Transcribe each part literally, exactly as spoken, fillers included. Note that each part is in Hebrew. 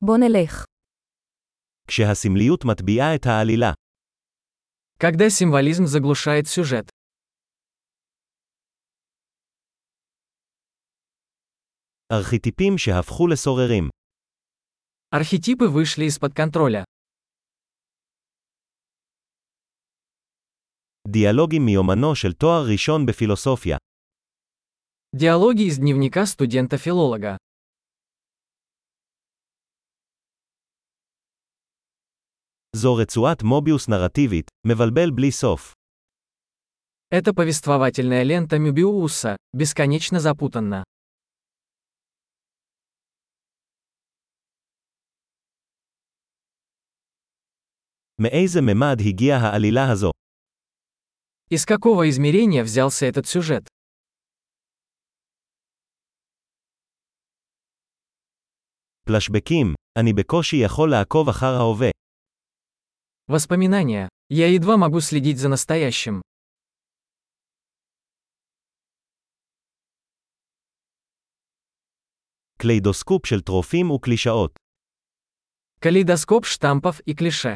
בוא נלך. כשהסמליות מטביעה את העלילה. Когда символизм заглушает сюжет. ארכיטיפים שהפכו לסוררים. Архетипы вышли из-под контроля. דיאלוגים מיומנו של תואר ראשון בפילוסופיה. Диалоги из дневника студента-филолога. זו רצועת מוביוס נרטיבית, מבלבל בלי סוף. Это повествовательная лента Мёбиуса, бесконечно запутанна. מאיזה ממד הגיעה העלילה הזו? Из какого измерения взялся этот сюжет? פלשבקים, אני בקושי יכול לעקוב אחר ההווה. Воспоминания. Я едва могу следить за настоящим. קליידוסקופ של טרופים וקלישאות. Калейдоскоп штампов и клише.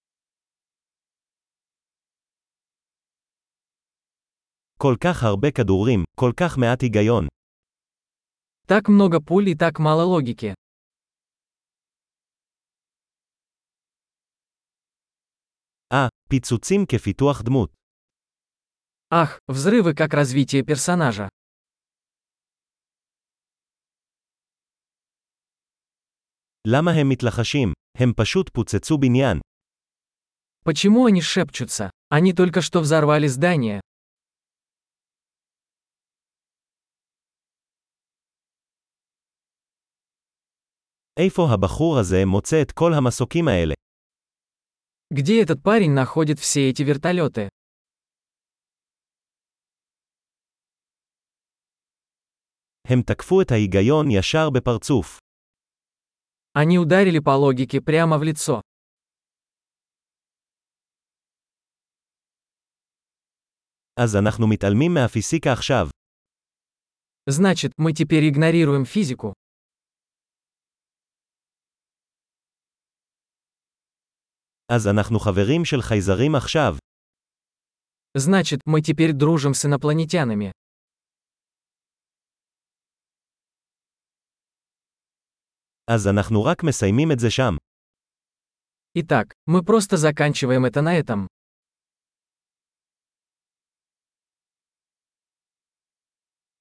כל כך הרבה כדורים, כל כך מעט היגיון. Так много пуль и так мало логики. אה, פיצוצים כפיתוח דמות. Ах, взрывы как развитие персонажа. למה הם מתלחשים? הם פשוט פוצצו בניין. Почему они шепчутся? Они только что взорвали здание. איפה הבחור הזה מוצא את כל המסוקים האלה? Где этот парень находит все эти вертолеты? הם תקפו את ההיגיון ישר בפרצוף. Они ударили по логике прямо в лицо. אז אנחנו מתעלמים מהפיזיקה עכשיו. Значит, мы теперь игнорируем физику. אז אנחנו חברים של חייזרים עכשיו. Значит, мы теперь дружим с инопланетянами. אז אנחנו רק מסיימים את זה שם. Итак, мы просто заканчиваем это на этом.